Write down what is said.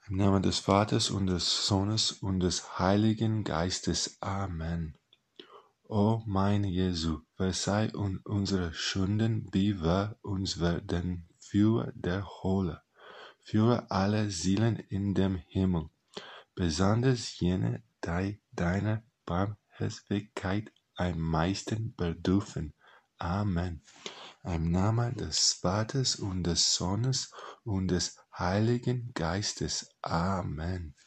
Im Namen des Vaters und des Sohnes und des Heiligen Geistes. Amen. O mein Jesu, verzeih uns unsere Sünden, wie wir uns werden für der Hölle. Führe alle Seelen in dem Himmel, besonders jene, die deiner Barmherzigkeit am meisten bedürfen. Amen. Im Namen des Vaters und des Sohnes und des Heiligen Geistes. Amen.